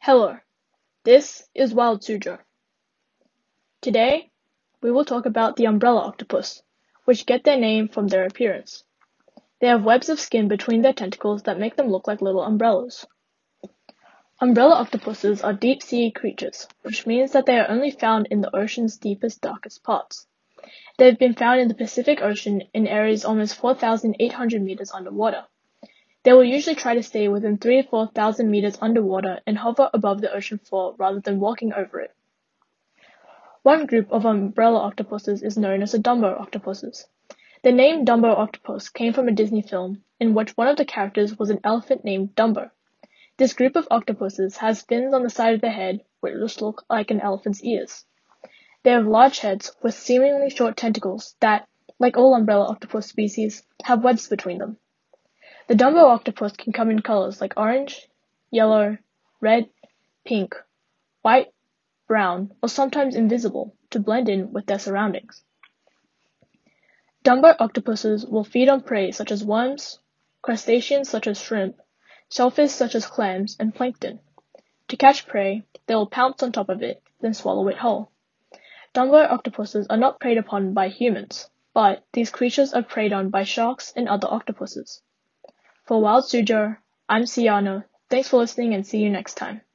Hello, this is Wild Suzhou. Today, we will talk about the umbrella octopus, which get their name from their appearance. They have webs of skin between their tentacles that make them look like little umbrellas. Umbrella octopuses are deep-sea creatures, which means that they are only found in the ocean's deepest, darkest parts. They have been found in the Pacific Ocean in areas almost 4,800 meters underwater. They will usually try to stay within 3,000 to 4,000 meters underwater and hover above the ocean floor rather than walking over it. One group of umbrella octopuses is known as the Dumbo octopuses. The name Dumbo octopus came from a Disney film in which one of the characters was an elephant named Dumbo. This group of octopuses has fins on the side of their head which look like an elephant's ears. They have large heads with seemingly short tentacles that, like all umbrella octopus species, have webs between them. The Dumbo octopus can come in colors like orange, yellow, red, pink, white, brown, or sometimes invisible to blend in with their surroundings. Dumbo octopuses will feed on prey such as worms, crustaceans such as shrimp, shellfish such as clams, and plankton. To catch prey, they will pounce on top of it, then swallow it whole. Dumbo octopuses are not preyed upon by humans, but these creatures are preyed on by sharks and other octopuses. For Wild Suzhou, I'm Siano. Thanks for listening and see you next time.